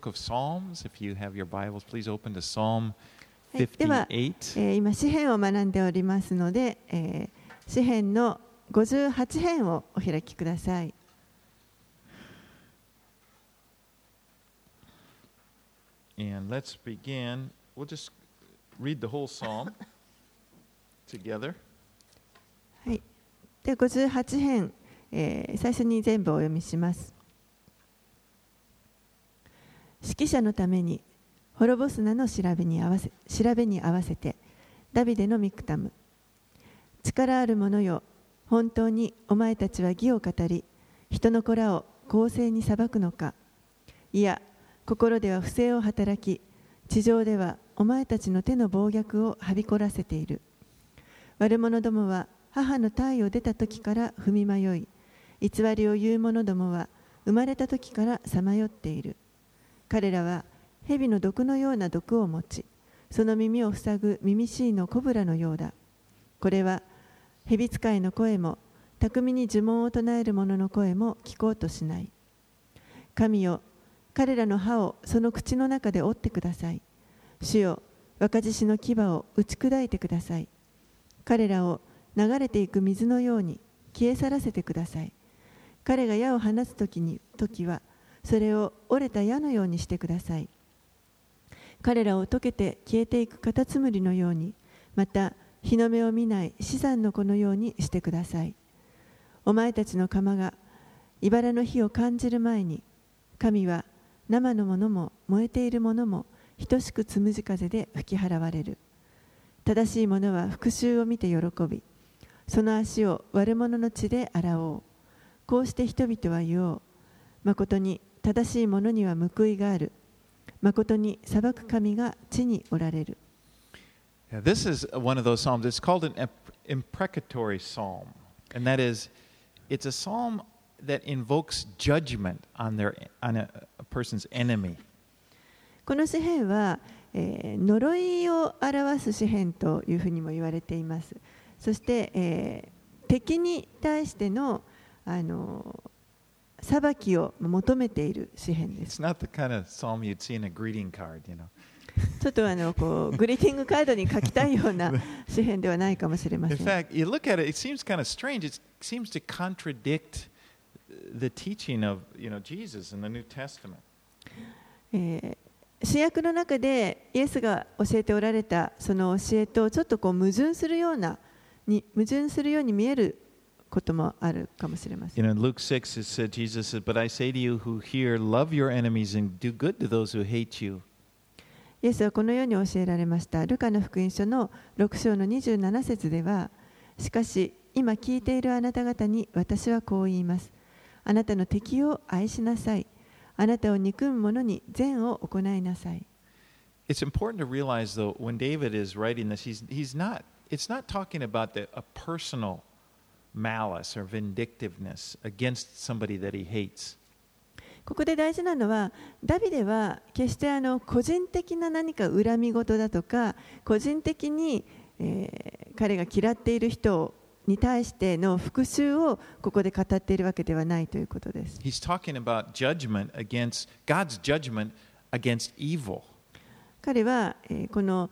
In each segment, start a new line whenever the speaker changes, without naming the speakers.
book of Psalms. If you have your Bibles, please open to Psalm
では、
58.
今詩編を学んでおりますので、詩編の58編をお開きください。
And let's begin. We'll just read the whole psalm together.
はい。で、58編、最初に全部お読みします。指揮者のために滅ぼすなの調べに合わせてダビデのミクタム。力ある者よ、本当にお前たちは義を語り、人の子らを公正に裁くのか。いや、心では不正を働き、地上ではお前たちの手の暴虐をはびこらせている。悪者どもは母の胎を出た時から踏み迷い、偽りを言う者どもは生まれた時からさまよっている。彼らは蛇の毒のような毒を持ち、その耳を塞ぐ耳しいのコブラのようだ。これは蛇使いの声も、巧みに呪文を唱える者の声も聞こうとしない。神よ、彼らの歯をその口の中で折ってください。主よ、若獅子の牙を打ち砕いてください。彼らを流れていく水のように消え去らせてください。彼が矢を放つ時は、それを折れた矢のようにしてください。彼らを溶けて消えていくカタツムリのように、また日の目を見ない死産の子のようにしてください。お前たちの釜が茨の火を感じる前に、神は生のものも燃えているものも等しくつむじ風で吹き払われる。正しい者は復讐を見て喜び、その足を悪者の血で洗おう。こうして人々は言おう。まことに正しい者には報いがある。まことに裁く神が地におられる。
Yeah, this is one of those psalms. It's called an imprecatory psalm, and that is, it's a psalm that invokes judgment on a person's enemy.
この詩篇は、呪いを表す詩篇というふうにも言われています。そして、敵に対しての、裁きを求めている詩篇です。
It's not the kind of psalm you'd see in a greeting card, you know.
ちょっとこうグリーティングカードに書きたいような詩篇ではないかもしれません。
In fact, you look at it, it seems kind of strange. It seems to contradict the teaching of, Jesus in the New Testament.
新約の中でイエスが教えておられたその教えとちょっとこう矛盾するように見えることもあるかもしれません。
In Luke 6, it said, Jesus said, "But I say to you who hear, love your enemies and do good to those who hate you."
イエスはこのように教えられました。ルカの福音書の6章の27節では、しかし今聞いているあなた方に私はこう言います。あなたの敵を愛しなさい。あなたを憎む者に善を行いなさい。
It's important to realize, though, when David is writing this, it's not talking about a personal malice or vindictiveness against somebody that he hates.
ここで大事なのは、ダビデは決して個人的な何か恨み事だとか、個人的に、彼が嫌っている人に対しての復讐をここで語っているわけではないということです。
He's talking about God's judgment against evil.
彼は、この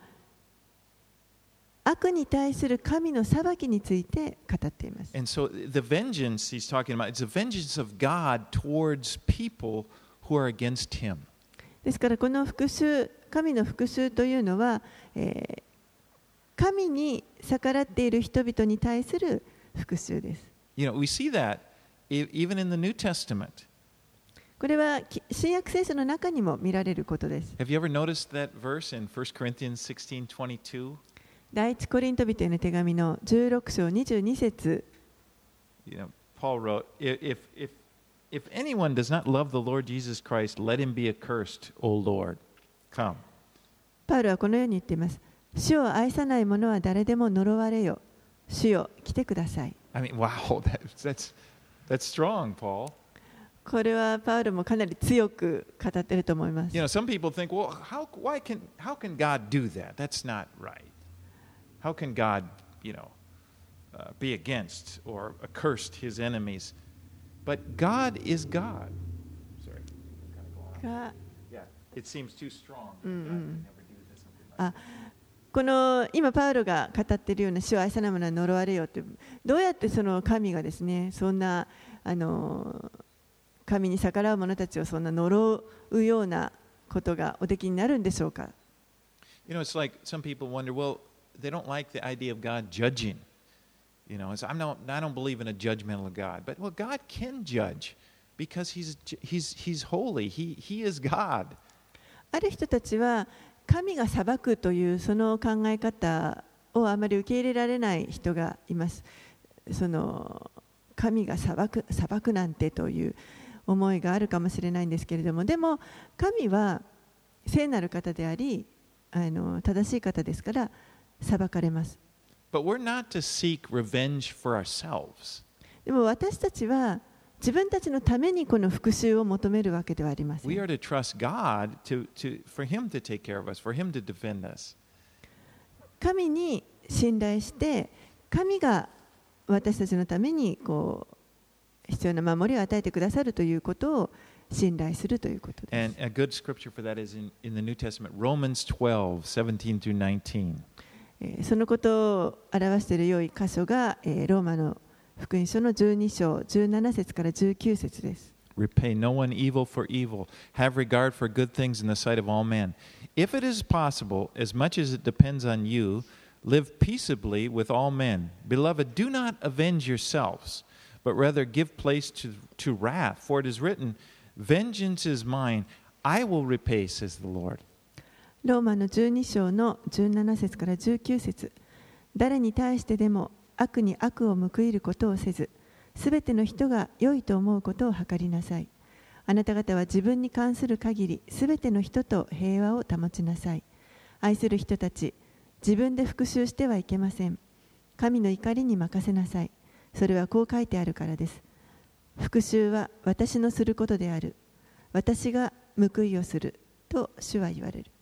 悪に対する神の裁きについて語っています。
And so the vengeance he's talking about, it's the vengeance of God towards people who are against him.
ですからこの神の復讐というのは、神に逆らっている人々に対する復讐です。
We see that even in the New Testament.
これは新約聖書の中にも見られることです。
Have you ever noticed that verse in 1 Corinthians 16:22?
第一コリント人への手紙の16章22節。
Paul wrote, if anyone does not love the Lord Jesus Christ, let him be accursed, O Lord. Come.
パウロはこのように言っています。主を愛さない者は誰でも呪われよ。主よ、来てください。
I mean, wow, that's strong, Paul.
これはパウロもかなり強く語っていると思います。
Some people think, well, how can God do that? That's not right. How can God, be against or accursed his enemies? But God is God. Sorry. it seems too strong. God
うんう
would
ん
never do this, something like
あこの今パウロが語っているような主を愛さない者は呪われよって、どうやってその神がですね、そんな神に逆らう者たちをそんな呪うようなことがおできになるんでしょうか。
You know, it's like some people wonder, well, they don't like the idea of God judging. You know, I don't believe in a judgmental God. But, well, God can judge because He's holy. He is God.
ある人たちは神が裁くというその考え方をあまり受け入れられない人がいます。その神が裁くなんてという思いがあるかもしれないんですけれども、でも神は聖なる方であり、正しい方ですから裁かれます。
But we're not to seek revenge for ourselves.
でも私たちは自分たちのためにこの復讐を求めるわけではありません。
We are to trust God for Him to take care of us, for Him to defend us.
神に信頼して、神が私たちのために必要な守りを与えてくださるということを信頼するということです。
And a good scripture for that is in the New Testament, Romans 12:17 through 19.
そのことを表している良い箇所がローマの福音書の12章17節から19節です。
Repay no one evil for evil. Have regard for good things in the sight of all men. If it is possible, as much as it depends on you, live peaceably with all men. Beloved, do not avenge yourselves, but rather give place to wrath. For it is written, Vengeance is mine, I will repay, says the Lord.
ローマの12章の17節から19節。誰に対してでも悪に悪を報いることをせず、すべての人が良いと思うことを図りなさい。あなた方は自分に関する限り、すべての人と平和を保ちなさい。愛する人たち、自分で復讐してはいけません。神の怒りに任せなさい。それはこう書いてあるからです。復讐は私のすることである。私が報いをする。と主は言われる。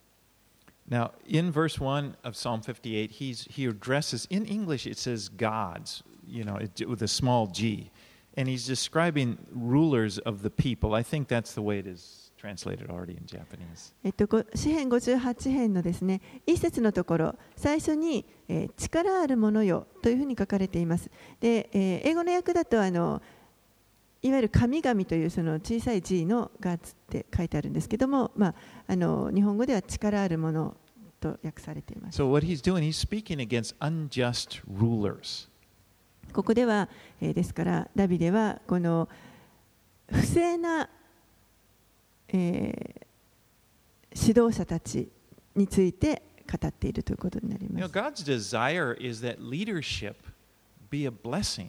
Now, in verse 1 of Psalm 58, he addresses, in English it says gods, with a small g. And he's describing rulers of the people. I think that's the way it is translated already in Japanese.
詩編58編のですね、一節のところ、最初に、力あるものよというふうに書かれています。で、英語の訳だといわゆる神々というその小さい G のガッツって書いてあるんですけども、日本語では力あるものと訳されています。
So what he's doing, he's speaking against unjust rulers.
ここでは、ですからダビデはこの不正な、指導者たちについて語っているということになります。
God's desire is that leadership be a blessing.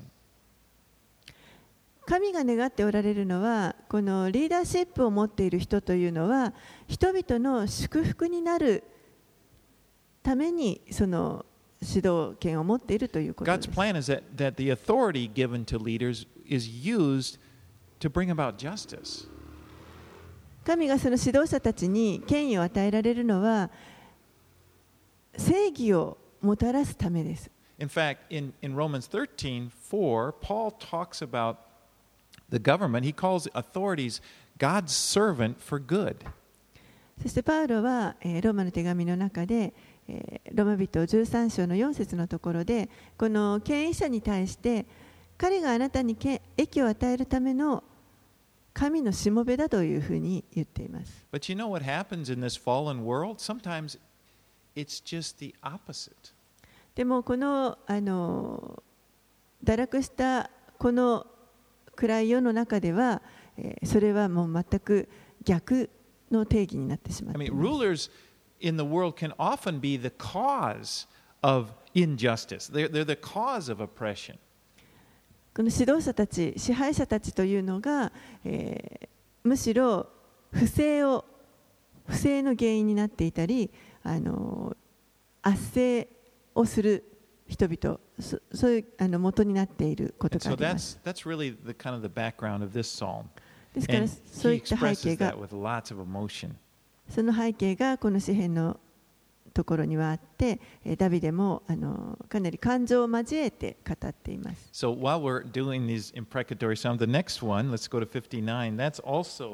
神が願っておられるのは、このリーダーシップを持っている人というのは、人々の祝福になるためにその指導権を持っているということです。
God's plan is that the authority given to leaders is used to bring about justice.
神がその指導者たちに権威を与えられるのは、正義をもたらすためです。
In fact, in Romans 13:4, Paul talks about the government. He calls authorities God's servant for good.
そしてパウロはローマの手紙の中でローマ人13章の4節のところで、この権威者に対して彼があなたに益を与えるための神のしもべだというふうに言っています。
But you know what happens in this fallen world? Sometimes it's just the opposite.
でもこの堕落したこの暗い世の中では、それはもう全く逆の定義になってしまっています。
Rulers in the world can often be the cause of injustice. They're the cause of oppression.
この指導者たち、支配者たちというのが、むしろ不正の原因になっていたり、圧政をする人々、そういう元になっていることがあります。
That's really the kind of the background of this psalm.
ですからそういった背景が、その背景がこの詩篇のところにはあって、ダビデもかなり感情を交えて語っています。
So while we're doing these imprecatory psalms, the next one, let's go to 59. That's also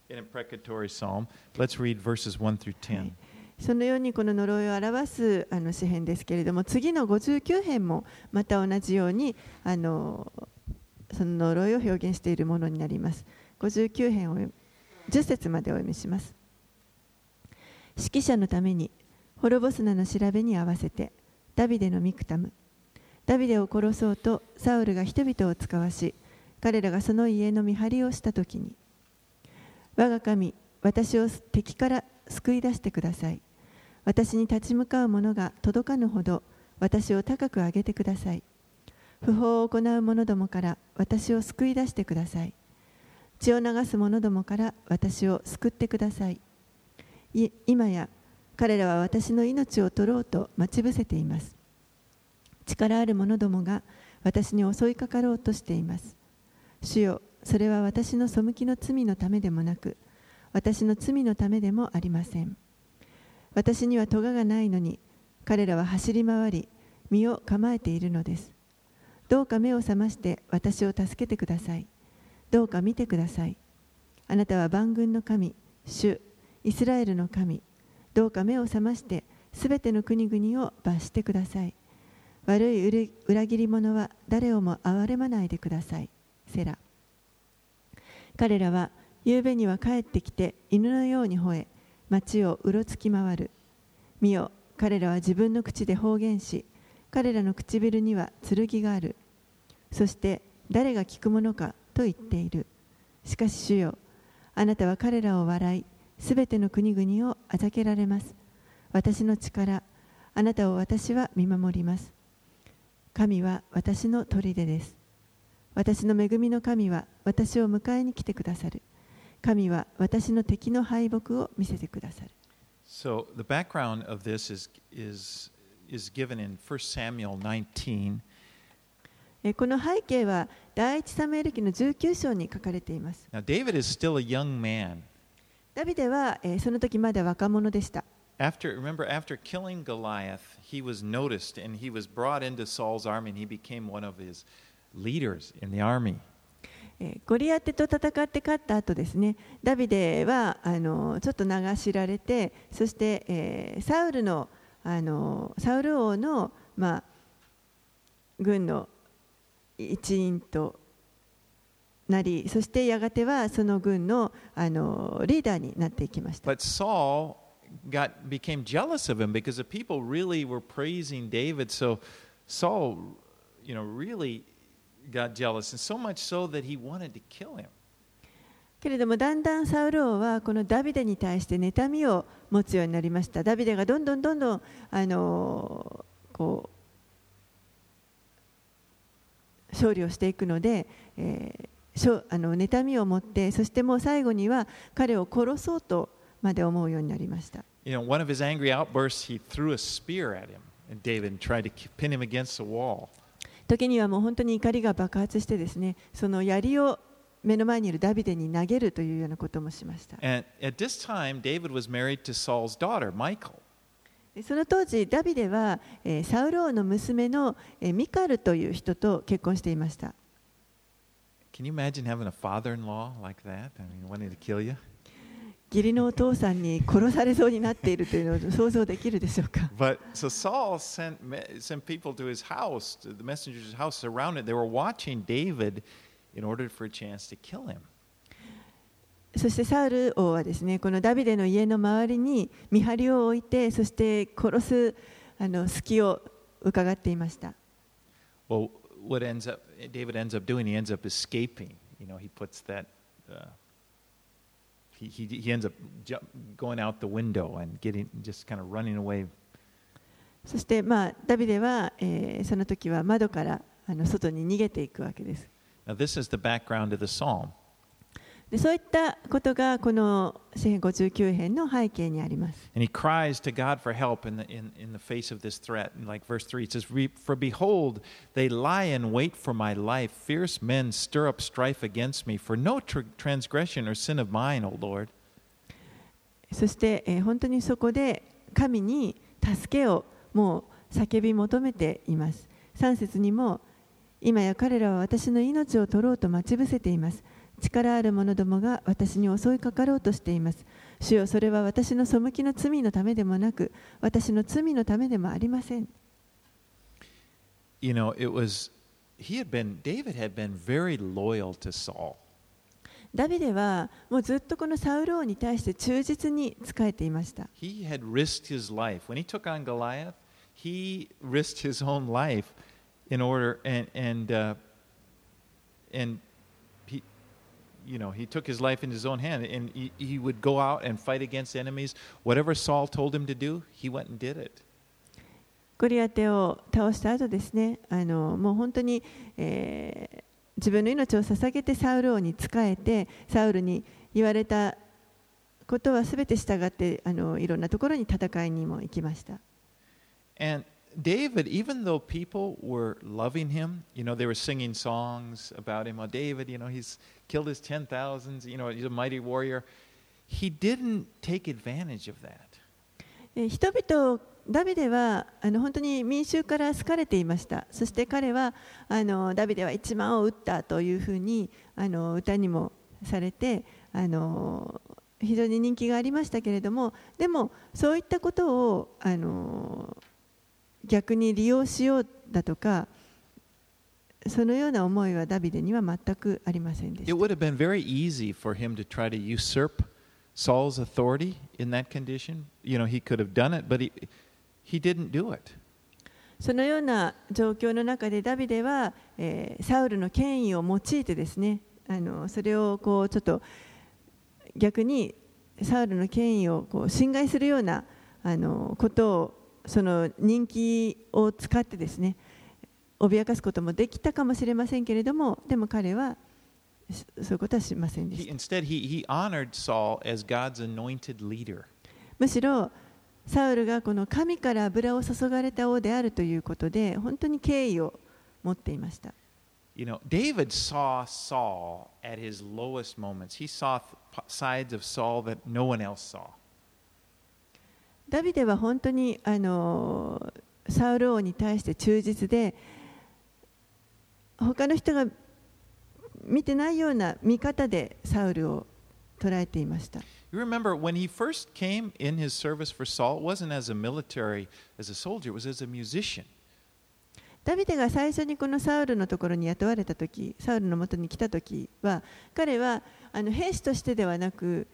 an imprecatory psalm. Let's read verses 1 through 10.
そのようにこの呪いを表す詩編ですけれども、次の59編もまた同じようにその呪いを表現しているものになります。59編を10節までお読みします。指揮者のために滅ぼす名の調べに合わせてダビデのミクタム。ダビデを殺そうとサウルが人々を使わし、彼らがその家の見張りをしたときに、我が神、私を敵から救い出してください。私に立ち向かう者が届かぬほど私を高く上げてください。不法を行う者どもから私を救い出してください。血を流す者どもから私を救ってください。今や彼らは私の命を取ろうと待ち伏せています。力ある者どもが私に襲いかかろうとしています。主よ、それは私の背きの罪のためでもなく、私の罪のためでもありません。私には咎がないのに、彼らは走り回り、身を構えているのです。どうか目を覚まして私を助けてください。どうか見てください。あなたは万軍の神、主、イスラエルの神。どうか目を覚ましてすべての国々を罰してください。悪い裏切り者は誰をも憐れまないでください。セラ。彼らは夕べには帰ってきて犬のように吠え、町をうろつき回る。見よ、彼らは自分の口で方言し、彼らの唇には剣がある。そして誰が聞くものかと言っている。しかし主よ、あなたは彼らを笑い、すべての国々をあざけられます。私の力、あなたを私は見守ります。神は私の砦です。私の恵みの神は私を迎えに来てくださる。神は私の敵の敗北を見せてくださる。
So the background of this is given in 1 Samuel 19.
この背景は第一サムエル記の19章に書かれています。
Now David is still a young man.
ダビデはその時まだ若者でした。
Remember, after killing Goliath, he was noticed and he was brought into Saul's army and he became one of his leaders in the army.
ゴリアテと戦って勝った後ですね、ダビデはちょっと名が知られて、そして、サウル王の、軍の一員となり、そしてやがてはその軍の、リーダーになっていきました。
But Saul became jealous of him because the people really were praising David. So Saul, really got jealous, and so much so that he wanted to kill him.
けれどもだんだんサウル王はこのダビデに対して妬みを持つようになりました。ダビデがどんどん勝利をしていくので、妬みを持って、そしてもう最後には彼を殺そうとまで思うようになりました。
One of his angry outbursts, he threw a spear at him, and David tried to pin him against the wall.
時にはもう本当に怒りが爆発してですね、その槍を目の前にいるダビデに投げるというようなこともしました。
And at this time, David was married to Saul's daughter, Michal.
その当時、ダビデはサウル王の娘のミカルという人と結婚していました。
Can you imagine having a father-in-law like that? Wanting to kill you?
義理のお父さんに殺されそうになっているというのを想像できるでしょうか。
But so Saul sent people to his house, to the messenger's house around it. They were watching David in order for a chance to kill him.
そしてサウル王はですね、このダビデの家の周りに見張りを置いて、そして殺す隙を伺っていました。
Well, David ends up doing, he ends up escaping. He puts that. He ends up going out the window and just kind of running away.
そしてダビデはその時は窓から外に逃げていくわけです。
Now this is the background of the psalm.
でそういったことがこの詩編59編の背景にあります。
And he cries to God for help in the face of this threat. And like verse 3, it says, For behold, they lie in wait for my life. Fierce men stir up strife against me. For no transgression or sin of mine, O Lord.
そして、本当にそこで神に助けをもう叫び求めています。3節にも、今や彼らは私の命を取ろうと待ち伏せています。 力ある者どもが私に襲いかかろうとしています。主よ、それは私の背きの罪のためでもなく、私の罪のためでもありません。
You know, David had been very loyal to Saul.
ダビデはもうずっとこのサウル王に対して忠実に仕えていました。
He had risked his life. When he took on Goliath, he risked his own life in order, and he took his life in his own hand, and he would go out and fight against enemies. Whatever Saul told him to do, he went and did it.
ゴリアテを倒した後ですね、もう本当に、自分の命を捧げてサウル王に仕えて、サウルに言われたことはすべて従っていろんなところに戦いにも行きました。
And David, even though people were loving him, they were singing songs about him. Oh, David, he's killed his 10,000s, he's a mighty warrior. He didn't take advantage of that.
人々、ダビデは本当に民衆から好かれていました。そして彼はダビデは1万を撃ったというふうに歌にもされて非常に人気がありましたけれども、でもそういったことを逆に利用しようだとか、そのような思いはダビデには全くありませんでした。
It would have been very easy for him to try to usurp Saul's authority in that condition. He could have done it, but he didn't do it.
そのような状況の中でダビデは、サウルの権威を用いてですね、それをちょっと逆にサウルの権威を侵害するようなことを、その人気を使ってですね、脅かすこともできたかもしれませんけれども、でも彼はそういうことはしませんでした。
Instead, he honored Saul as God's anointed leader.
むしろサウルがこの神から油を注がれた王であるということで本当に敬意を持っていました。
David saw Saul at his lowest moments. He saw sides of Saul that no one else saw.
ダビデは本当にサウル王に対して忠実で、他の人が見てないような見方でサウルを捉えていました。
You remember when he first came in his service for Saul, it wasn't as a military, as a soldier, it was as a musician.
ダビデが最初にこのサウルのところに雇われたとき、サウルのもとに来たときは、彼は兵士としてではなく、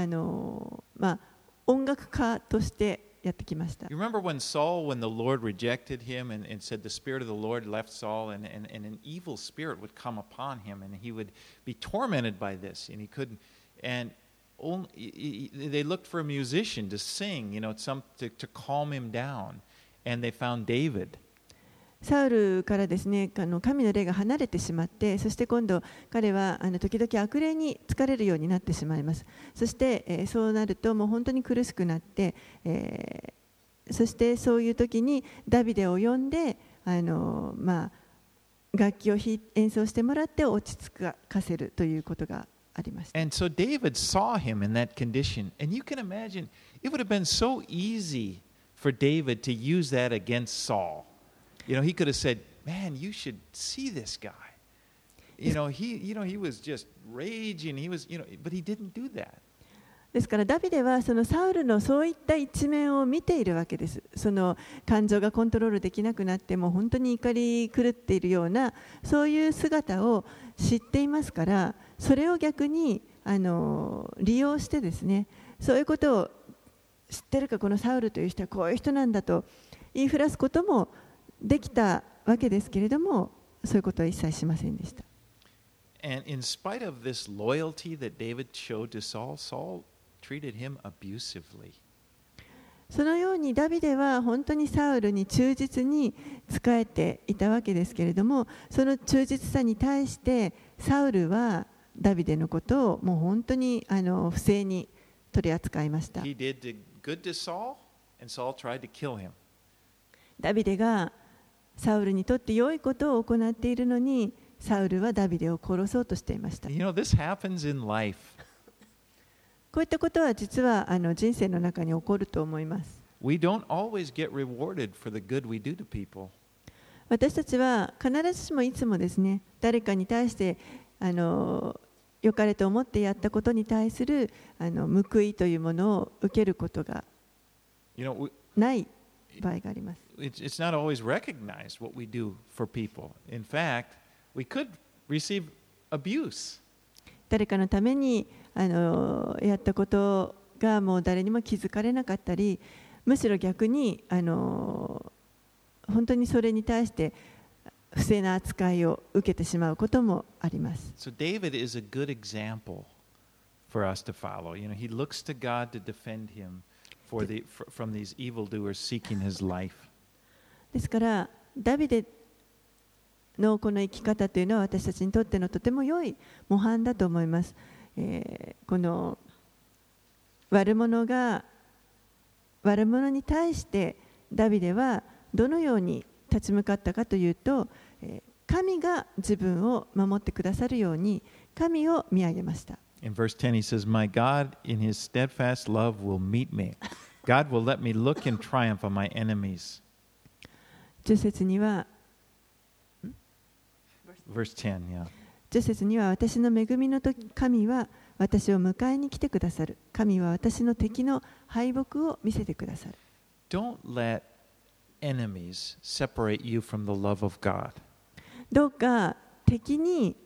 音楽家としてやってきました。
You remember when the Lord rejected him and said the Spirit of the Lord left Saul, and an evil spirit would come upon him, and he would be tormented by this, and he couldn't, and they looked for a musician to sing, to calm him down, and they found David.
サウルからですね、神の霊が離れてしまって、そして今度彼は時々悪霊に疲れるようになってしまいます。そして、そうなるともう本当に苦しくなって、そしてそういう時にダビデを呼んで楽器を演奏してもらって落ち着かせるということがありました。
And so David saw him in that condition, and you can imagine it would have been so easy for David to use that against Saul. He could have said, "Man, you should see this guy. He was just raging. But he didn't do that."
ですからダビデはそのサウルのそういった一面を見ているわけです。その感情がコントロールできなくなってもう本当に怒り狂っているようなそういう姿を知っていますから、それを逆に利用してですね、そういうことを知ってるか、このサウルという人はこういう人なんだと言いふらすこともできたわけですけれども、そういうことは一切しませんでした。
And in spite of this loyalty that David showed to Saul, Saul treated him abusively.
そのようにダビデは本当にサウルに忠実に仕えていたわけですけれども、その忠実さに対してサウルはダビデのことをもう本当に不正に取り扱いました。
He did good to Saul, and Saul tried to kill him.
ダビデがサウルにとって良いことを行っているのに、サウルはダビデを殺そうとしていました。
This happens in life.
こういったことは実は人生の中に起こると思います。
We don't always get rewarded for the good we do to people.
私たちは必ずしもいつもですね、誰かに対して良良かれと思ってやったことに対する報いというものを受けることが ない場合があります。
It's not always recognized what we do for people. In fact, we could receive abuse.
誰かのためにやったことがもう誰にも気づかれなかったり、むしろ逆に本当にそれに対して不正な扱いを受けてしまうこともあります。
So David is a good example for us to follow. You know, he looks to God to defend him from these evildoers seeking his life. ですからダビデのこの生き方というのは私たちにとってのとても良い模範だと思います。この悪者に対してダビデはどのように立ち向かったかというと、神が自分を守ってくださるように神を見上げました。 In verse 10 he says, My God in his steadfast love will meet me. God will let me look in triumph on my enemies.
10節には、
Verse 10, yeah.
10節には私の恵みの時、神は私を迎えに来てくださる。神は私の敵の敗北を見せてくださる。
Don't let enemies separate you from the love of God.
どうか敵に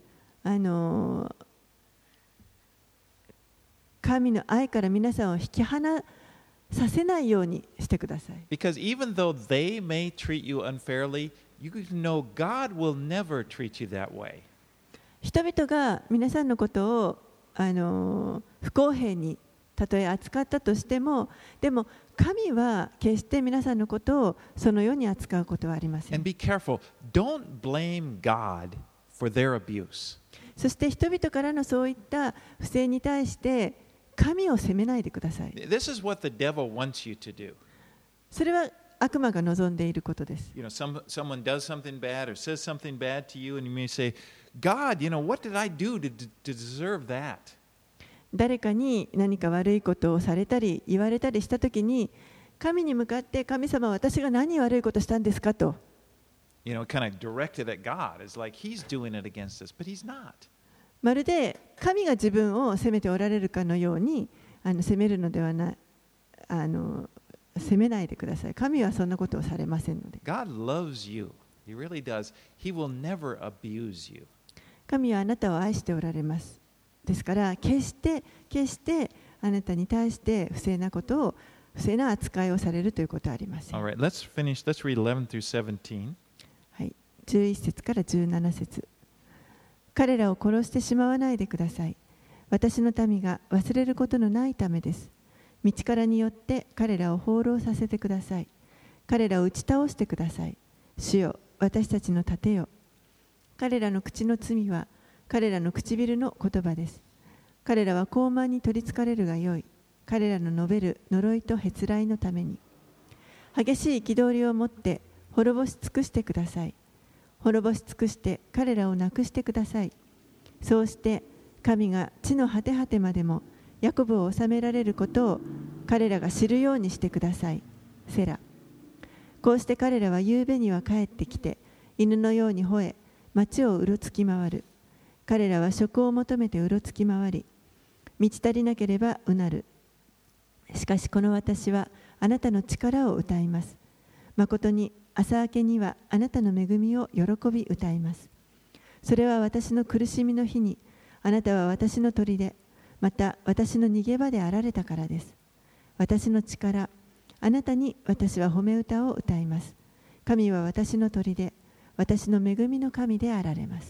神の愛から皆さんを引き離させないようにしてください。
Because even though they may treat you unfairly, you know God will never treat you that way.
人々が皆さんのことを不公平にたとえ扱ったとしても、でも神は決して皆さんのことをそのように扱うことはありません。
And be careful. Don't blame God for their abuse.
そして人々からのそういった不正に対して神を責めないでください。
This is what the devil wants you to do.
それは悪魔が望んでいることです。
You know, someone does something bad or says something bad to you, and you may say, God, you know, what did I do to deserve that?
誰かに何か悪いことをされたり言われたりしたときに、神に向かって神様、私が何悪いことしたんですかと。
You know, kind of directed at God. It's like he's doing it against us, but he's not.
まるで神が自分を責めておられるかのように責めるのではない、責めないでください。神はそんなことをされませんので。
God loves you. He really does. He will never abuse you.
神はあなたを愛しておられます。ですから決してあなたに対して不正な扱いをされるということはありません。
All right, let's finish. Let's read 11 through 17.
はい、11節から17節。彼らを殺してしまわないでください。私の民が忘れることのないためです。道からによって彼らを放浪させてください。彼らを打ち倒してください。主よ、私たちの盾よ。彼らの口の罪は彼らの唇の言葉です。彼らは傲慢に取りつかれるがよい。彼らの述べる呪いとへつらいのために。激しい憤りを持って滅ぼし尽くしてください。滅ぼし尽くして彼らをなくしてください。そうして神が地の果て果てまでもヤコブを治められることを彼らが知るようにしてください。セラ。こうして彼らは夕べには帰ってきて、犬のように吠え、町をうろつき回る。彼らは職を求めてうろつき回り、満ち足りなければうなる。しかしこの私はあなたの力を歌います。まことに朝明けにはあなたの恵みを喜び歌います。それは私の苦しみの日に、あなたは私の砦、また私の逃げ場であられたからです。私の力、あなたに私は褒め歌を歌います。神は私の砦、私の恵みの神であられます。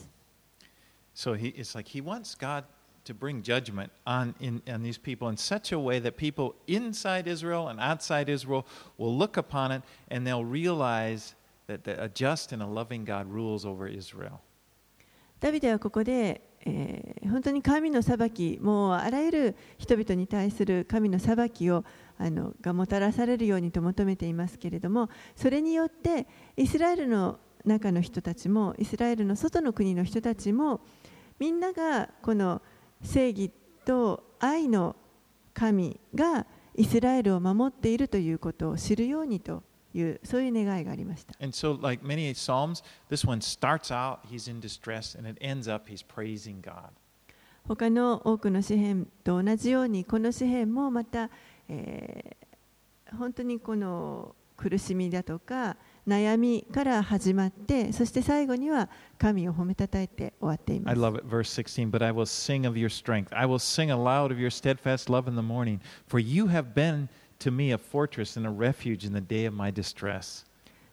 So it's like he wants God to bring judgment on these people in such a way that people inside Israel and outside Israel will look upon it and they'll realize that a just and a loving God rules over Israel.
ダビデはここで、本当に神の裁き、もうあらゆる人々に対する神の裁きをがもたらされるようにと求めていますけれども、それによってイスラエルの中の人たちもイスラエルの外の国の人たちもみんながこの正義と愛の神がイスラエルを守っているということを知るようにというそういう願いがありました。
And so, like many Psalms, this one starts out, he's in distress, and it ends up, he's praising God.
他の多くの詩篇と同じように、この詩篇もまた、本当にこの苦しみだとか悩みから始まって、そして最後には神を褒めたたえて終わっていま
I
す。
love it, verse 16. But I will sing of your strength. I will sing aloud of your steadfast love in the morning. For you have been to me a fortress and a refuge in the day of my distress.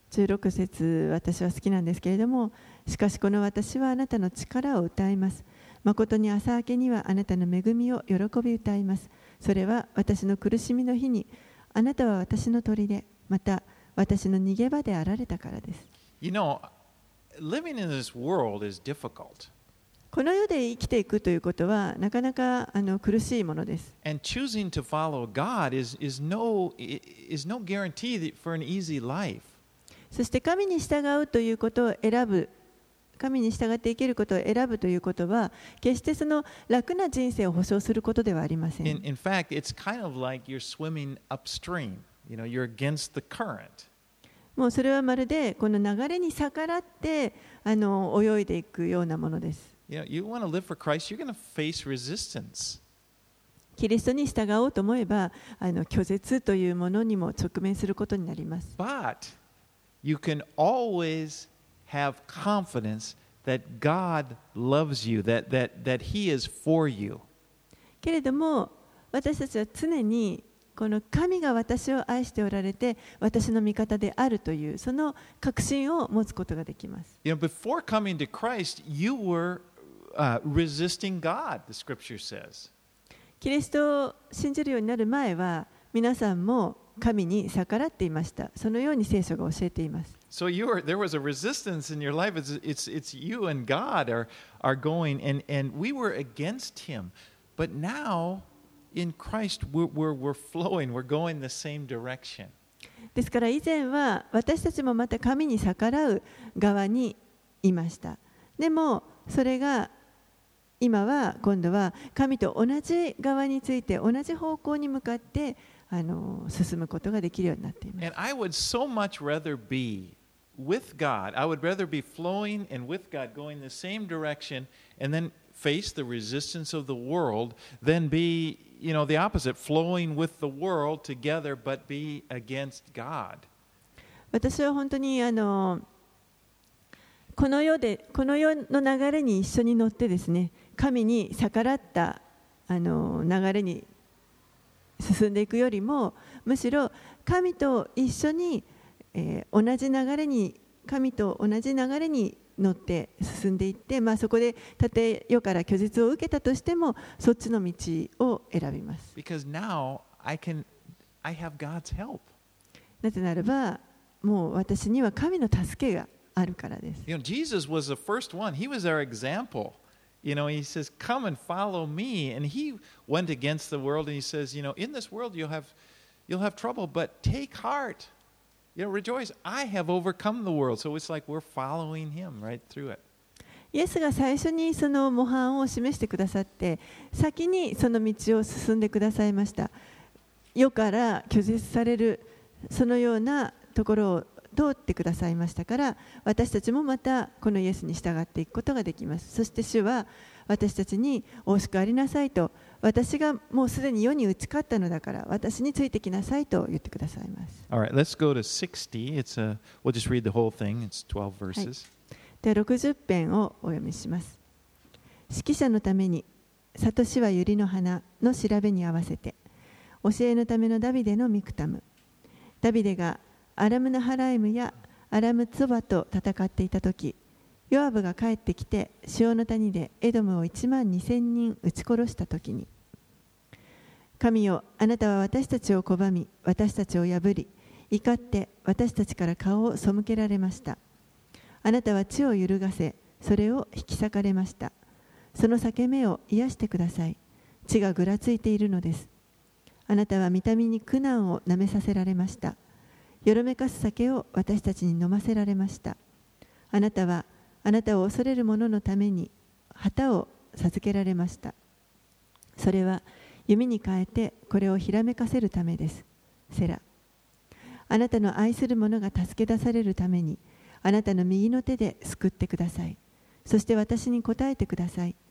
16節、私は好きなんですけれども、しかしこの私はあなたの力を歌います。誠に朝明けにはあなたの恵みを喜び歌います。それは私の苦しみの日に、あなたは私の砦、また私の逃げ場であられたからです。
You know, living in this world is difficult.
この世で生きていくということはなかなか苦しいものです。
And choosing to follow God is no guarantee for an easy life.
そして神に従うということを選ぶ、神に従って生きることを選ぶということは、決してその楽な人生を保証することではありません。
In fact, it's kind of like you're swimming upstream. You know, you're against the current.
もうそれはまるでこの流れに逆らって泳いでいくようなものです。
You know, you want to live for Christ, you're going to face resistance.
キリストに従おうと思えば拒絶というものにも直面することになります。
But you can always have confidence that God loves you, that He is for you.
けれども私たちは常にこの神が私を愛しておられて私の味方であるというその確信を持つことができます。
You know, before coming to Christ, you were resisting God, the Scripture says.
キリストを信じるようになる前は皆さんも神に逆らっていました。そのように聖書が教えています。
So there was a resistance in your life. It's you and God are going, and we were against Him. But now, in Christ, we're flowing. We're going the same direction.
ですから以前は私たちもまた神に逆らう側にいました。でもそれが今は今度は神と同じ側について同じ方向に向かって進むことができるようになっています。
And I would so much rather be with God. I would rather be flowing and with God going the same direction and then face the resistance of the world than be, you know, the opposite, flowing with the world together but be against God.
私は本当にこの世の流れに一緒に乗ってですね、神に逆らった流れに進んでいくよりも、むしろ神と一緒に、神と同じ流れに乗って進んでいって、そこでたとえ世から拒絶を受けたとしてもそっちの道を選びます。
Because now I have God's help.
なぜならばもう私には神の助けがあるからです。
You know, Jesus was the first one. He was our example. You know, he says, "Come and follow me." And he went against the world, and he says, "You know, in this world you'll have trouble, but take heart. You know, rejoice. I have overcome the world." So it's like we're following him right through it.
イエスが最初にその模範を示してくださって、先にその道を進んでくださいました。世から拒絶されるそのようなところを通ってくださいましたから、私たちもまたこのイエスに従っていくことができます。そして主は私たちにおしくありなさいと、私がもうすでに世に打ち勝ったのだから私についてきなさいと言ってくださいます。
All right, let's go to 60. We'll just read the whole thing. It's 12 verses.
では60編をお読みします。指揮者のために里しは百合の花の調べに合わせて、教えのためのダビデのミクタム。ダビデがアラムナハライムやアラムツバと戦っていたとき、ヨアブが帰ってきて塩の谷でエドムを12000人撃ち殺したときに、神よ、あなたは私たちを拒み、私たちを破り、怒って私たちから顔を背けられました。あなたは地を揺るがせ、それを引き裂かれました。その裂け目を癒してください。地がぐらついているのです。あなたは見た目に苦難をなめさせられました。よろめかす酒を私たちに飲ませられました。あなたはあなたを恐れる者のために旗を授けられました。それは弓に変えてこれをひらめかせるためです。セラ。あなたの愛する者が助け出されるためにあなたの右の手で救ってください。そして私に答えてください。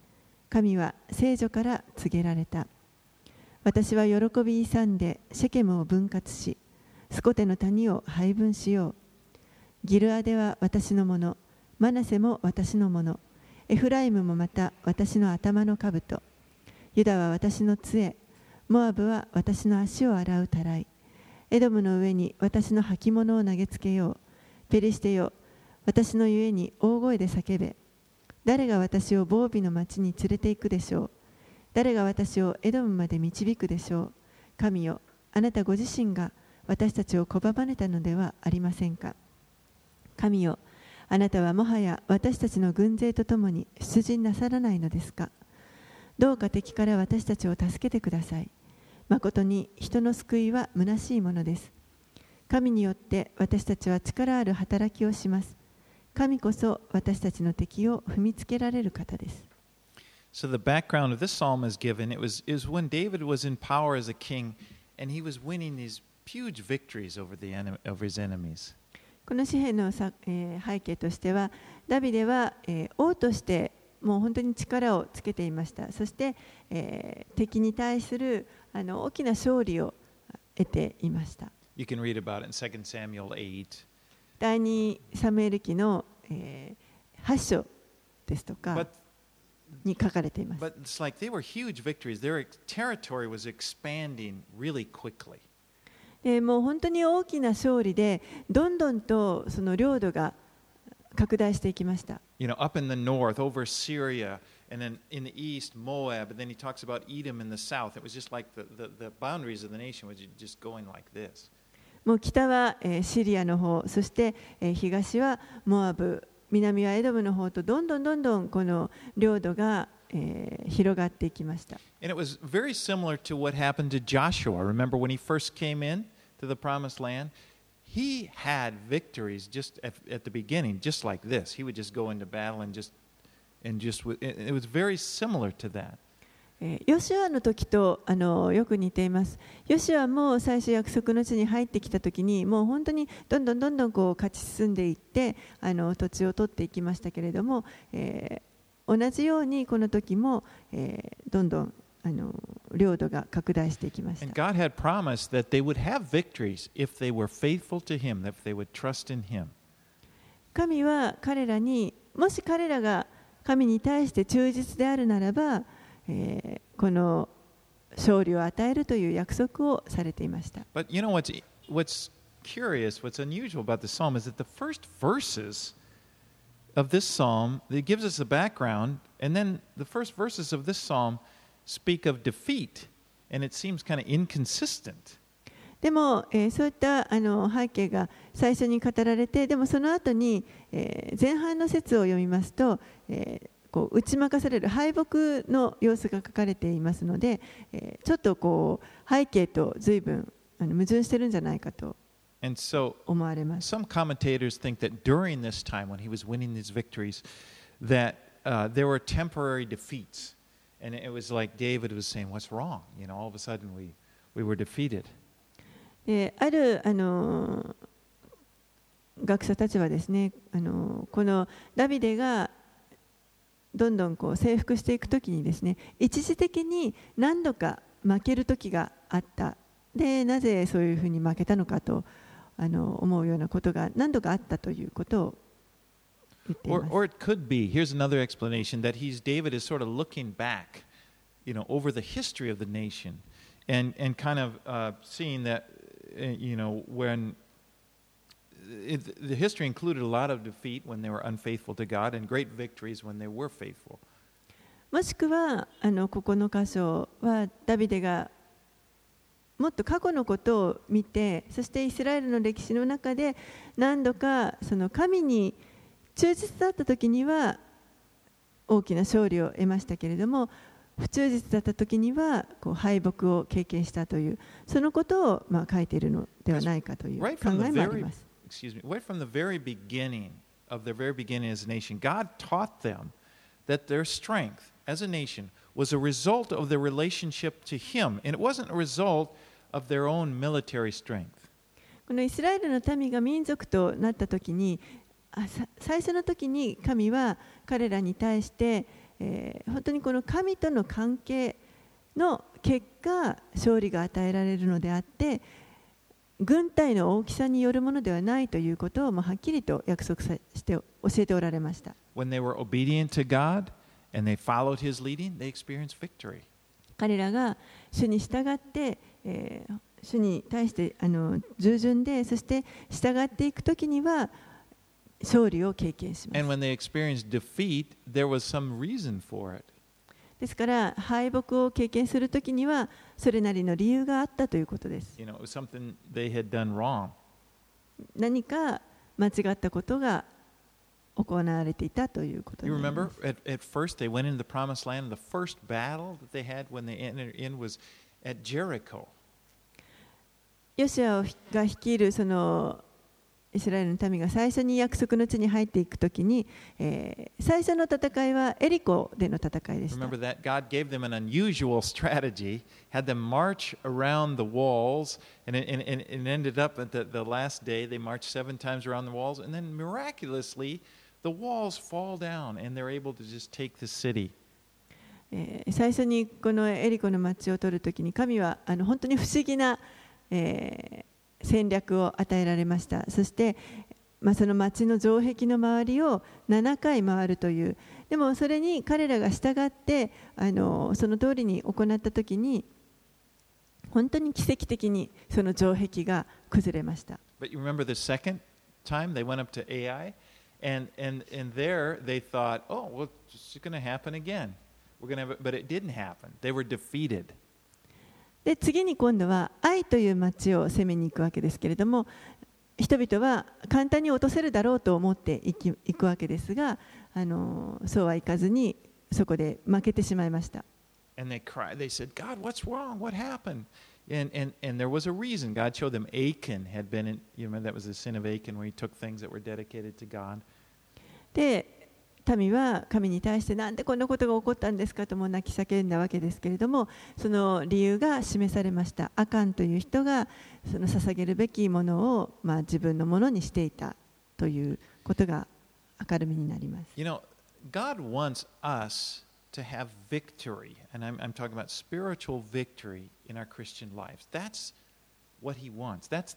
神は聖女から告げられた。私は喜び勇んでシェケムを分割し、スコテの谷を配分しよう。ギルアデは私のもの、マナセも私のもの、エフライムもまた私の頭の兜。ユダは私の杖、モアブは私の足を洗うたらい。エドムの上に私の履物を投げつけよう。ペリシテよ、私のゆえに大声で叫べ。誰が私を防備の町に連れて行くでしょう。誰が私をエドムまで導くでしょう。神よ、あなたご自身が私たちを拒まれたのではありませんか。神よ、あなたはもはや私たちの軍勢とともに出陣なさらないのですか。どうか敵から私たちを助けてください。まことに人の救いは虚しいものです。神によって私たちは力ある働きをします。神こそ私たちの敵を踏みつけられる方です。
So the background of this psalm is given. It was when David was in power as a king, and he was winning these huge victories over his enemies.
この詩篇の背景としては、ダビデは王としてもう本当に力をつけていました。そして、敵に対する大きな勝利を得ていました。
You can read about it in 2 Samuel 8.
第2サムエル記の8章ですとかに書かれています。
But it's like they were huge victories. Their territory was expanding really quickly.
でもう本当に大きな勝利で、どんどんとその領土が拡大していきました。
You know, up in the north, over Syria, and then in the east, Moab, and then he talks about Edom in the south. It was just like the boundaries of the nation was just going like this.
もう北はシリアの方、そして東はモアブ、南はエドムの方とどんどんこの領土が広がっていきました。
And it was very similar to what happened to Joshua. Remember when he first came in to the promised land? He had victories just at the beginning, just like this. He would just go into battle and it was very similar to that.
ヨシュアの時とよく似ています。ヨシュアも最初約束の地に入ってきた時にもう本当にどんどんこう勝ち進んでいって土地を取っていきましたけれども、同じようにこの時も、どんどん領土が拡大していきました。
And God had promised that they would have victories if they were faithful to Him, if they would trust in Him.
神は彼らに、もし彼らが神に対して忠実であるならば、この勝利を与えるという約束をされていました。
But you know what's curious, what's unusual about the psalm is that the first verses of this psalm, it gives us a background, and then the first verses of this psalm speak of defeat, and it seems kind of inconsistent.
でも、そういった背景が最初に語られて、でもその後に、前半の説を読みますと、こう打ち負かされる敗北の様子が書かれていますので、ちょっとこう背景と随分矛盾してるんじゃないかと思われます。
Some commentators think that during this time when he was winning these victories, that there were temporary defeats, and it was like David was saying, "What's wrong?" You know, all of a sudden we were defeated.
ある学者たちはですね、このダビデがどんどんこう征服していくときにですね、一時的に何度か負ける時があった。で、なぜそういうふうに負けたのかと思うようなことが何度かあったということを言っています。
Or it could be, here's another explanation, that David is sort of looking back, you know, over the history of the nation, and kind of seeing that, you know, when the history included a lot of defeat when they were unfaithful to God and great victories when they were faithful.
もしくはここの箇所はダビデがもっと過去のことを見て、そしてイスラエルの歴史の中で何度かその神に忠実だった時には大きな勝利を得ましたけれども、不忠実だった時にはこう敗北を経験したという、そのことを書いているのではないかという考えもあります。
Right from the very beginning of their very beginning as a nation, God taught them that their strength as a nation was a result of their relationship to Him, and it wasn't a result of their own military strength.
このイスラエルの民が民族となった時に、最初の時に神は彼らに対して本当にこの神との関係の結果勝利が与えられるのであって、軍隊の大きさによるものではないということをはっきりと約束して教えておられました。
When they were obedient to God and they followed His leading, they experienced victory.
彼らが主に従って、主に対して従順で、そして従っていくときには勝利を経験します。
And when they experienced defeat, there was some reason for it.
ですから敗北を経験するときにはそれなりの理由があったということです。
You know, it was something they had done wrong.
何か間違ったことが行われていたということで
You
す。
remember at first they went into the promised land. The first battle that they had when they entered in was at Jericho.
ヨシュアが率いるそのイスラエルの民が最初に約束の地に入っていくときに、最初の戦いはエリコでの戦いでした。
Remember that God gave them an unusual strategy, had them march around the walls, and it ended up at the last day they marched 7 times around the walls, and then miraculously the walls fall down and they're able to just take the city.
最初にこのエリコの町を取るときに神は本当に不思議な、戦略を与えられました。そして、その町の城壁の周りを7回回るという。でもそれに彼らが従ってその通りに行ったときに本当に奇跡的にその城壁が崩れました。
But you remember the second time they went up to Ai, and there they thought, oh, well, it's going to happen again. We're going to have it, but it didn't happen. They were defeated.
で次に今度は愛という町を攻めに行くわけですけれども、人々は簡単に落とせるだろうと思っていくわけですが、そうはいかずにそこで負けてしまいました。
And they cried. They said, God, what's wrong? What happened? And there was a reason. God showed them Achan had been in, you remember that was the sin of Achan where he took things that were dedicated to God.
で民は神に対してなんでこんなことが起こったんですかとも泣き叫んだわけですけれども、その理由が示されました。アカンという人がその捧げるべきものを、自分のものにしていたということが明るみになります。
You know, God wants us to have victory, and I'm talking about spiritual victory in our Christian lives. That's what He wants. That's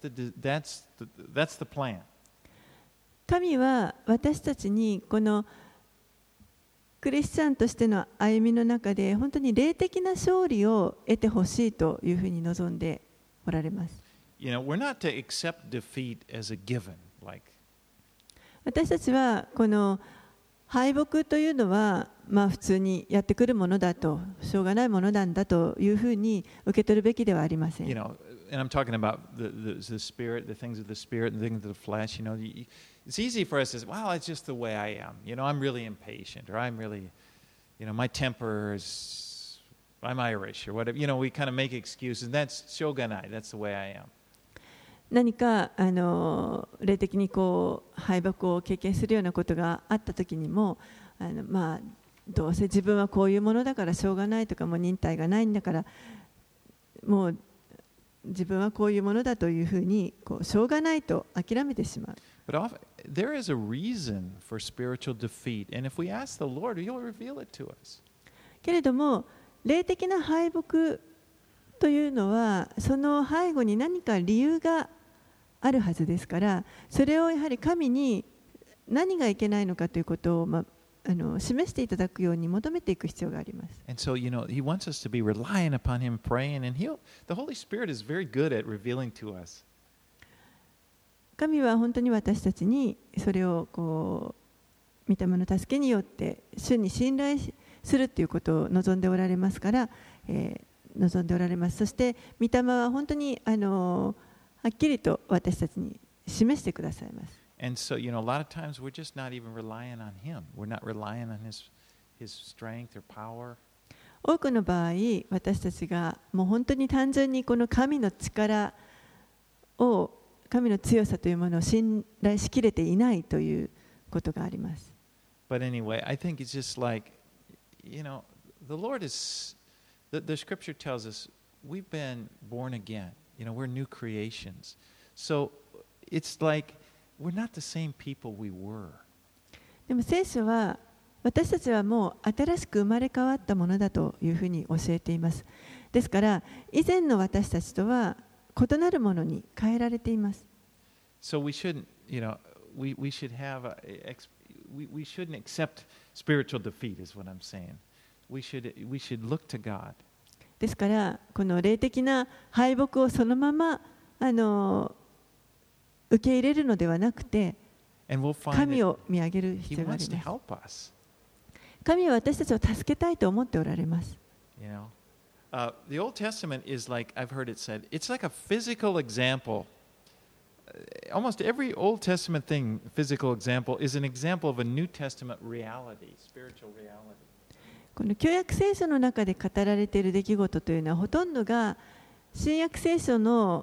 the plan.
神は私たちにこのクリスチャンとしての歩みの中で本当に霊的な勝利を得てほしいというふうに望んでおられます。
You know, we're not to accept defeat as a given, like.
私たちはこの敗北というのは普通にやってくるものだと、しょうがないものなんだというふうに受け取るべきではありません。
You know, and I'm talking about the spirit, the things of the spirit, and the things of the flesh. You know, it's easy for us to say, well, it's just the way I am. You know, I'm really impatient, or I'm really, you know, my temper is, I'm Irish, or whatever. You know, we kind of make excuses. And that's shoganai. That's the way I am.
何か霊的に敗北を経験するようなことがあったときにも、どうせ自分はこういうものだからしょうがないとか、もう忍耐がないんだからもう自分はこういうものだというふうにしょうがないと諦めてしまう。
But often, there is a reason for spiritual defeat, and if we ask the Lord, He'll reveal it to us.
けれども霊的な敗北というのはその背後に何か理由があるはずですから、それをやはり神に何がいけないのかということを、示していただくように求めていく必要があります。
And so, you know, He wants us to be relying upon Him, praying, and the Holy Spirit is very good at revealing to us.
神は本当に私たちにそれを御霊の助けによって主に信頼するということを望んでおられますから、望んでおられます。そして御霊は本当にはっきりと私たちに示してくださいます。
And so, you know, a lot of times we're just not even relying on Him. We're not relying on His strength or power.
多くの場合、私たちがもう本当に単純にこの神の力を、神の強さというものを信頼しきれていないということがあります。
But anyway, I think it's just like, you know, the Lord is, the Scripture tells us we've been born again. You know, we're new creations. So it's like we're not the same people we were.
でも聖書は私たちはもう新しく生まれ変わったものだというふうに教えています。ですから以前の私たちとは異なるものに変えられています。
So we shouldn't, we should have we shouldn't accept spiritual defeat, is what I'm saying. We should look to God.
ですからこの霊的な敗北をそのまま受け入れるのではなくて、神を見上げる必要があります。神は私たちを助けたいと思っておられます。
The Old Testament is like, I've heard it said, it's like a physical example. Almost every Old Testament thing, physical example, is an example of a New Testament reality, spiritual reality.
この旧約聖書の中で語られている出来事というのはほとんどが新約聖書の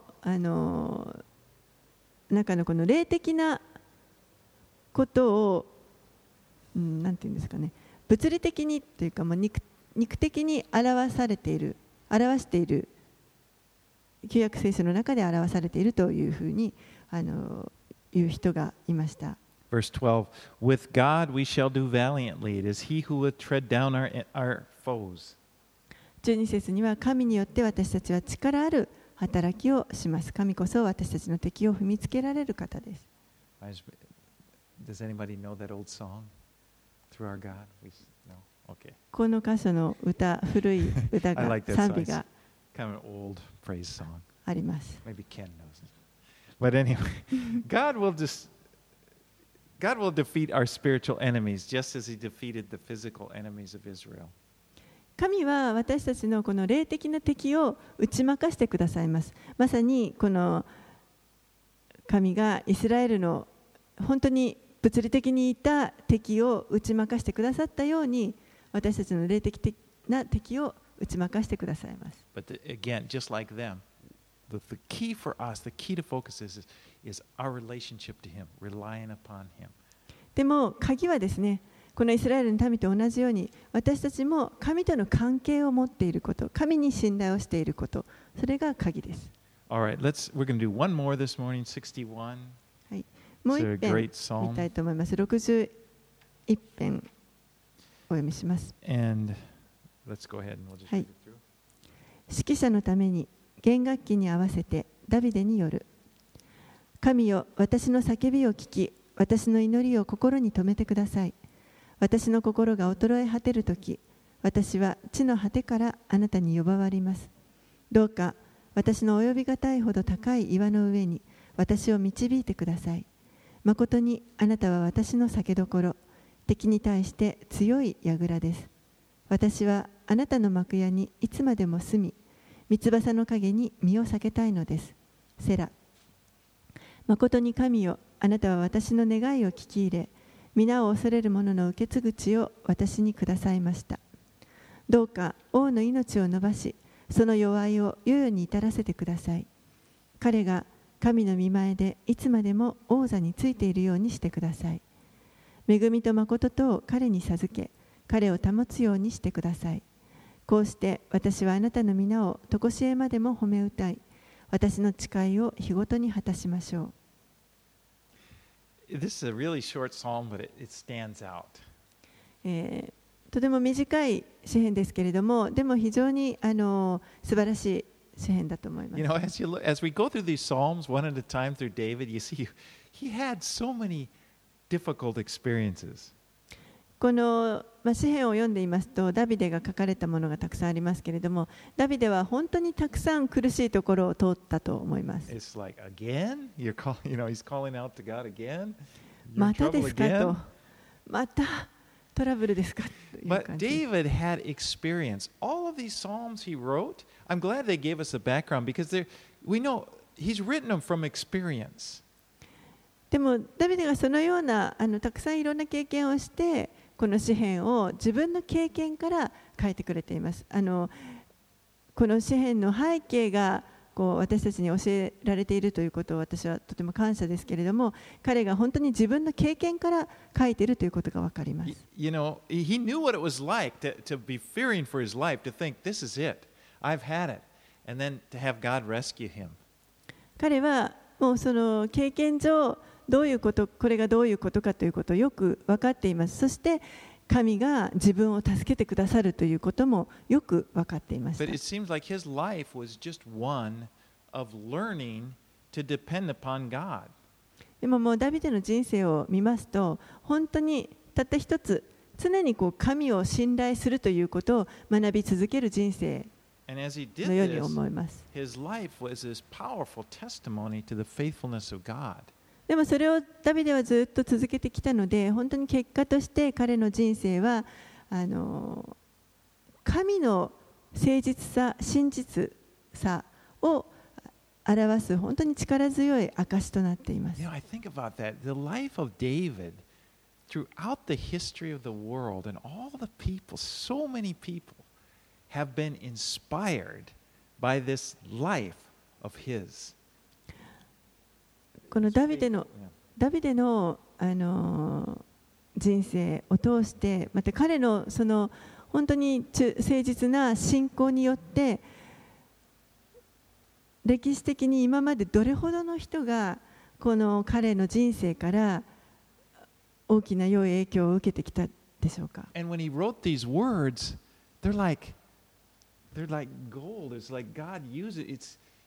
中のこの霊的なことを、なんていうんですかね、物理的にというか、肉的に表している旧約聖書の中で表されているというふうに言う人がいました。
Verse 12, With God we shall do valiantly. It is He who will tread down our foes.
12節には神によって私たちは力ある働きをします。神こそ私たちの敵を踏みつけられる方です。
Does anybody know that old song? Through our God? No? Okay.
この箇所の古い歌が賛美が
kind of an old praise song.
あります。
Maybe Ken knows it. But anyway, God will defeat our spiritual enemies just as He defeated the physical enemies of Israel.
神は私たちのこの霊的な敵を打ち負かしてくださいます。まさにこの神がイスラエルの本当に物理的にいた敵を打ち負かしてくださったように、私たちの霊的な敵を打ち負かしてくださいます。
But again, just like them, the key for us, the key to focus is our relationship to Him, relying upon Him.
でも鍵はですね、このイスラエルの民と同じように、私たちも神との関係を持っていること、神に信頼をしていること、それが鍵です。
All right, we're going to do one more this morning, 61.
はい、もう一編見たいと思います。61編お読みします。
And let's go ahead and we'll just read it through.
指揮者のために弦楽器に合わせてダビデによる。神よ、私の叫びを聞き、私の祈りを心に留めてください。私の心が衰え果てるとき、私は地の果てからあなたに呼ばわります。どうか私の及びがたいほど高い岩の上に私を導いてください。まことにあなたは私の酒どころ、敵に対して強い櫓です。私はあなたの幕屋にいつまでも住み、三翼の陰に身を避けたいのです。セラ。まことに神よ、あなたは私の願いを聞き入れ、皆を恐れる者の受け継ぐ地を私にくださいました。どうか王の命を伸ばし、その弱いを世々に至らせてください。彼が神の御前でいつまでも王座についているようにしてください。恵みと誠とを彼に授け、彼を保つようにしてください。こうして私はあなたの皆を常しえまでも褒め歌い、私の誓いを日ごとに果たしましょう。
This is a really short psalm, but it stands out.
とても短い詩編ですけれども、でも非常に素晴らしい詩編だと思います。
As we go through these psalms one at a time through David, you see he had so many difficult experiences.
この詩編を読んでいますと、ダビデが書かれたものがたくさんありますけれども、ダビデは本当にたくさん苦しいところを通ったと思います。
It's like, again? He's calling out to God again?
またですかと、またトラブルですかという感じ。
But David had experience. All of these psalms he wrote, I'm glad they gave us a background because we know he's written them from experience.
でもダビデがそのようなたくさんいろんな経験をして、この詩編を自分の経験から書いてくれています。この詩編の背景が私たちに教えられているということを私はとても感謝ですけれども、彼が本当に自分の経験から書いているということが分かります。
He knew what it was like to be fearing for his life, to think, this is it, I've had it, and then to have God rescue him.
彼はもうその経験上、これがどういうことかということをよく分かっています。そして神が自分を助けてくださるということもよく分かっていまし
But
た。
it seems like his life was just one of learning to depend upon God.
でももうダビデの人生を見ますと、本当にたった一つ、常に神を信頼するということを学び続ける人生
And as he did
のように
this,
思います。
his life was this powerful testimony to the faithfulness of God.
でもそれをダビデはずっと続けてきたので、本当に結果として彼の人生は神の誠実さ、真実さを表す本当に力強い証となっています。
You know, I think about that. The life of David throughout the history of the world and all the people, so many people have been inspired by this life of his.
このダビデの人生を通して、また彼のその本当に誠実な信仰によって、歴史的に今までどれほどの人がこの彼の人生から大きな良い影響を受けてきたでしょうか。
And when he wrote these words, they're like gold. It's like God used it.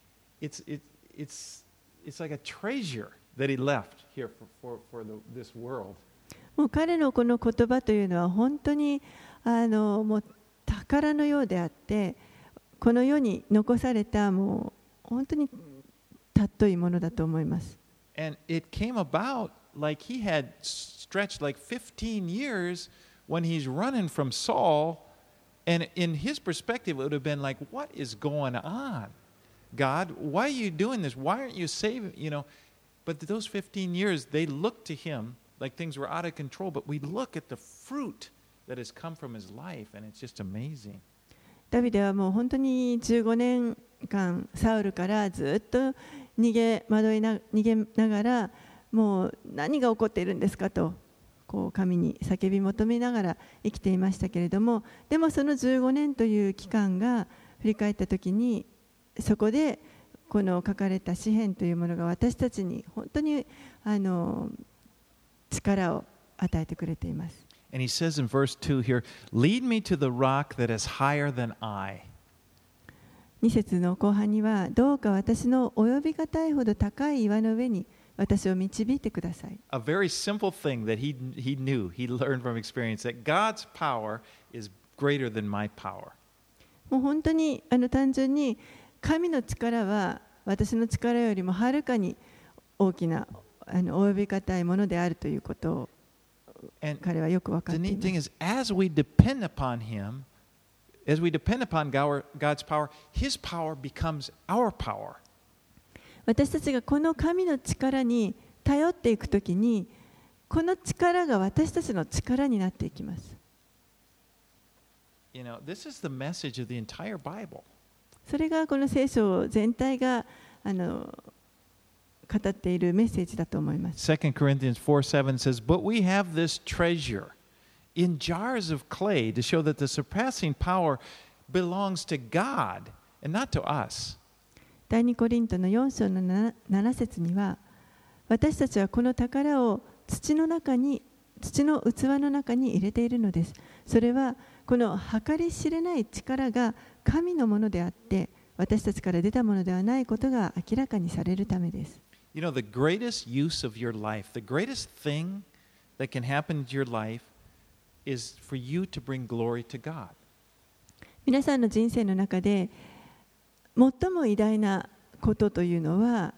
It's like a treasure that he left here for this world.
もう彼のこの言葉というのは本当にもう宝のようであって、この世に残されたもう本当に尊いものだと思います。
And it came about like he had stretched like 15 years when he's running from Saul, and in his perspective it would have been like, what is going on? God, why are you doing this? Why aren't you saving, you know? But those 15 years, they looked to him like things were out of control, but we look at the fruit that has come from his life, and it's just amazing.
ダビデはもう本当に15年間サウルからずっと逃げながら、もう何が起こっているんですかと神に叫び求めながら生きていましたけれども、でもその15年という期間が振り返ったときに、そこでこの書かれた詩篇というものが私たちに本当に力を与えてくれています。
And he says in verse 2 here, lead me to the rock that is higher than I.
2節の後半には、どうか私の及びがたいほど高い岩の上に私を導いてください。
A very simple thing that he knew, he learned from experience, that God's power is greater than my power.
もう本当に単純に神の力は私の力よりもはるかに大きな及びがたいものであるということを彼はよく分かってい
The
ま
neat thing
す。
is, as we depend upon him, as we depend upon God's power, his power becomes our power.
私たちがこの神の力に頼っていくときに、この力が私たちの力になっていきます。
You know, this is the message of the entire Bible.
それがこの聖書全体が語っているメッセージだと思います。
2 Corinthians 4:7 says, But we have this treasure in jars of clay to show that the surpassing power belongs to God and not to us.
第2コリントの4章の 7節には、私たちはこの宝を土の器の中に入れているのです。それはこの計り知れない力が神のものであって、私たちから出たものではないことが明らかにされるためです。
You know, the greatest use of your life, the greatest thing that can happen in your life is for you to bring glory to God.
皆さんの人生の中で最も偉大なことというのは、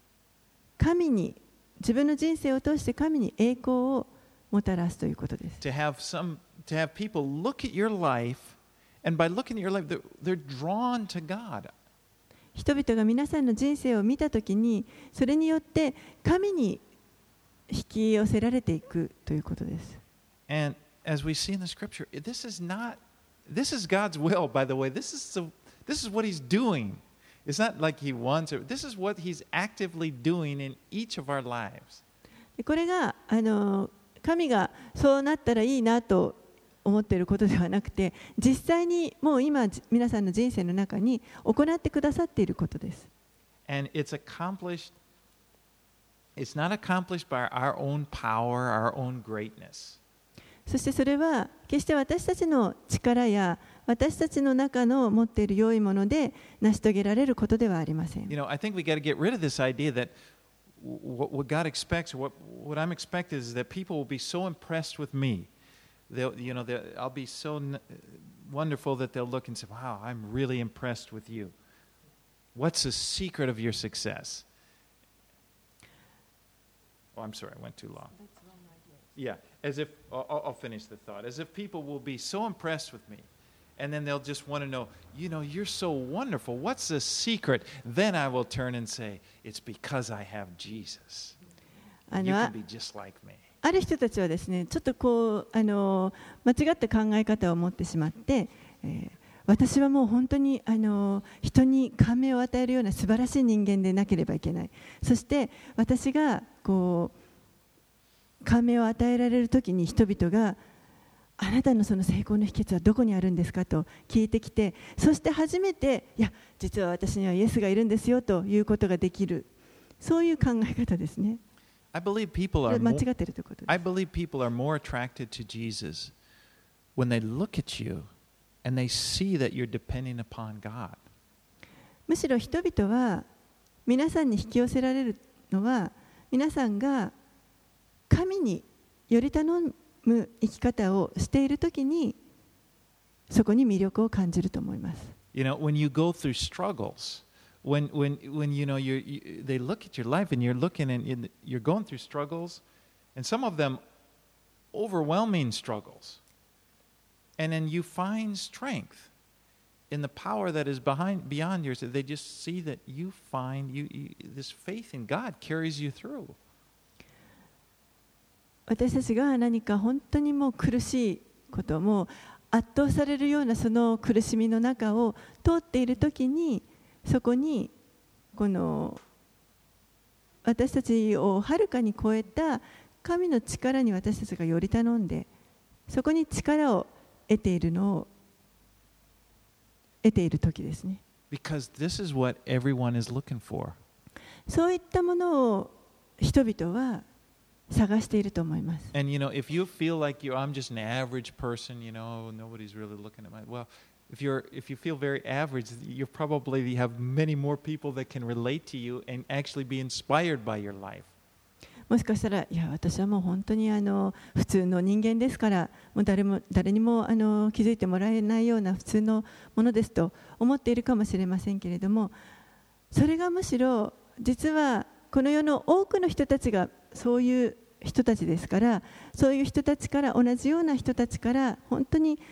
自分の人生を通して神に栄光をもたらすということです。
To have people look at your life, and by looking at your life, they're drawn to God.
人々が皆さんの人生を見たときに、それによって神に引き寄せられていくということです。
And as we see in the scripture, this is God's will, by the way. This is what He's doing. It's not like He wants it. This is what He's actively doing in each of our lives.
これが神がそうなったらいいなと思っていることではなくて、実際にもう今皆さんの人生の中に行ってくださっていることです。
And it's not accomplished by our own power, our own greatness.
そしてそれは決して私たちの力や私たちの中の持っている良いもので成し遂げられることではありません。
You know, I think we got to get rid of this idea that what God expects, or what I'm expected is that people will be so impressed with me. I'll be so wonderful that they'll look and say, "Wow, I'm really impressed with you. What's the secret of your success?" Oh, I'm sorry, I went too long. Yeah, as if I'll finish the thought. As if people will be so impressed with me, and then they'll just want to know, you're so wonderful. What's the secret? Then I will turn and say, it's because I have Jesus. You can be just like me.
ある人たちはですね、ちょっと間違った考え方を持ってしまって、私はもう本当に人に感銘を与えるような素晴らしい人間でなければいけない。そして私が感銘を与えられるときに人々があなたのその成功の秘訣はどこにあるんですかと聞いてきて、そして初めていや実は私にはイエスがいるんですよということができる、そういう考え方ですね。
I believe people are
間違っているということです。
I believe people are more attracted to Jesus when they look at you and they see that you're depending upon God.
むしろ人々は皆さんに引き寄せられるのは、皆さんが神により頼む生き方をしているときに、そこに魅力を感じると思います。
You know, when you go through struggles, when they look at your life and you're looking and you're going through struggles, and some of them overwhelming struggles, and then you find strength in the power that is beyond yours. They just see that you find this faith in God carries you through.
私たちが何か本当にもう苦しいことも圧倒されるようなその苦しみの中を通っているときに、そこにこの私たちをはるかに超えた神の力に私たちがより頼んで、そこに力を得ている時ですね。
Because this is what everyone is looking for.
そういったものを人々は探していると思います。
And if you feel like I'm just an average person, nobody's really looking at my if you feel very average, you probably have many more people that can relate to you and actually be inspired by your life.
もしかしたら、いや私はもう本当に普通の人間ですから、もう誰にも気づいてもらえないような普通のものですと思っているかもしれませんけれども、それがむしろ実はこの世の多くの人たちがそういう人たちですから、そういう人たちから同じような人たちから本当に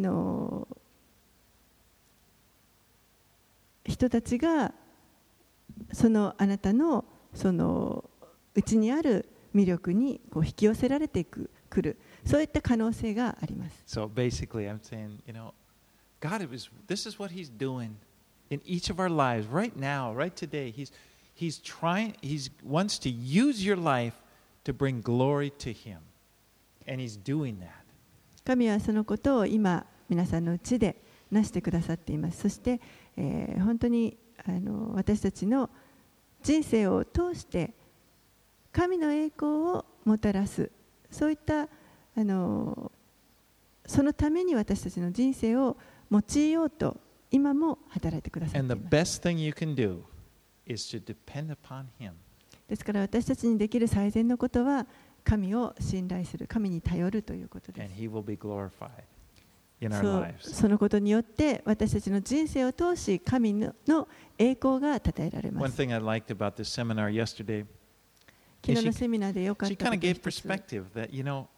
人たちがそのあなたのその内にある魅力に引き寄せられてくる、そういった可能性があります。
So basically, I'm saying, God this is what He's doing in each of our lives right now, right today. He wants to use your life to bring glory to Him, and He's doing that.
神はそのことを今皆さんのうちでなしてくださっています。そして、本当に私たちの人生を通して神の栄光をもたらす、そういったそのために私たちの人生を用いようと今も働いてくださっています。
And the best thing you can do is to depend upon Him.
ですから私たちにできる最善のことは神を信頼する、神に頼るということです。
And He will be glorified in our
そう、
lives.
そのことによって私たちの人生を通し神の栄光が称えられま
One
す。
thing I liked about this seminar yesterday,
昨日のセミナーで良かっ
she
たこ
kind
と
of
一
gave
つ、
perspective that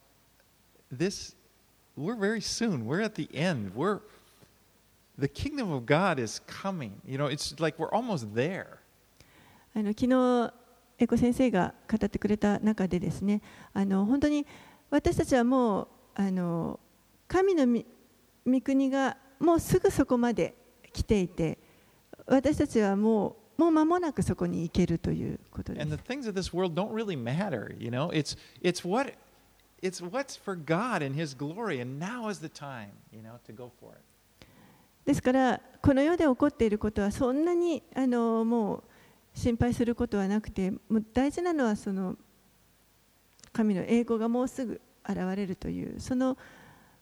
we're very soon, we're at the end, the kingdom of God is coming. It's like we're almost there.
昨日エコ先生が語ってくれた中でですね、本当に私たちはもう神の御国がもうすぐそこまで来ていて、私たちはもう間もなくそこに行けるということです。
And the things of this world don't really matter, it's what's for God and His glory, and now is the time, to go for it.
ですからこの世で起こっていることはそんなにもう心配することはなくて、もう大事なのはその神の栄光がもうすぐ現れるというその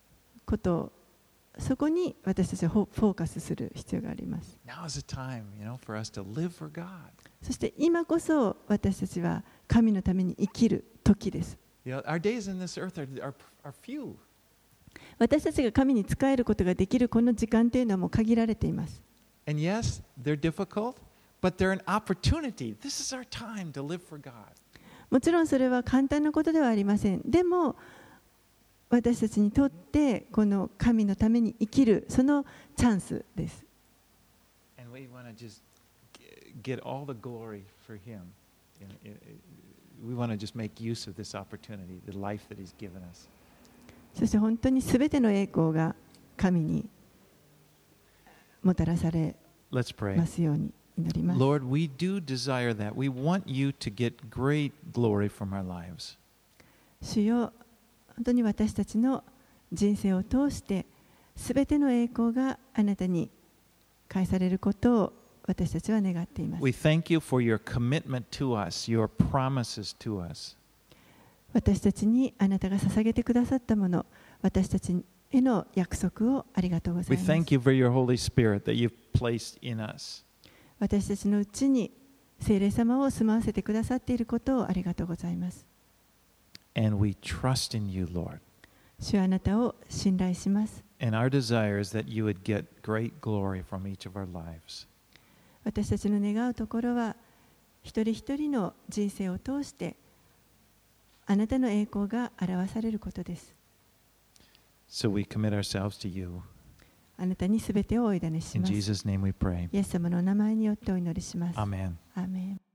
ことを、そこに私たちはフォーカスする必要があります。
Now is the time, for us to live for God.
そして今こそ私たちは神のために生きる時です。
Our days in this earth are few.
私たちが神に仕えることができるこの時間というのはもう限られています。
And yes, they're difficult, but they're an opportunity. This is our time to live for God.
もちろんそれは簡単なことではありません。でも私たちにとってこの神のために生きるそのチャンスです。
And we want to just get all the glory for Him. We want to just make use of this opportunity, the life that He's given us.
そして本当にすべての栄光が神にもたらされますように祈ります。
Lord, we do desire that. We want you to get great glory from our lives.
主よ、本当に私たちの人生を通してすべての栄光があなたに返されることを私たちは願っています。
We thank you for your commitment to us, your promises to us.
私たちにあなたが捧げてくださったもの、私たちへの約束をありがとうござい
We
ます。
thank you for your Holy Spirit that you've placed in us.
私たちのうちに聖霊様を住まわせてくださっていることをありがとうございます。
And we trust in you, Lord.
主はあなたを信頼します。
And our desire is that you would get great glory from each of our lives.
私たちの願うところは一人一人の人生を通してあなたの栄光が表されることです。
So we commit ourselves to you.
あなたにすべてをお委ねし
In
ます。
Jesus' name we pray.
イエス様の名前によってお祈りします。
Amen.
アーメン。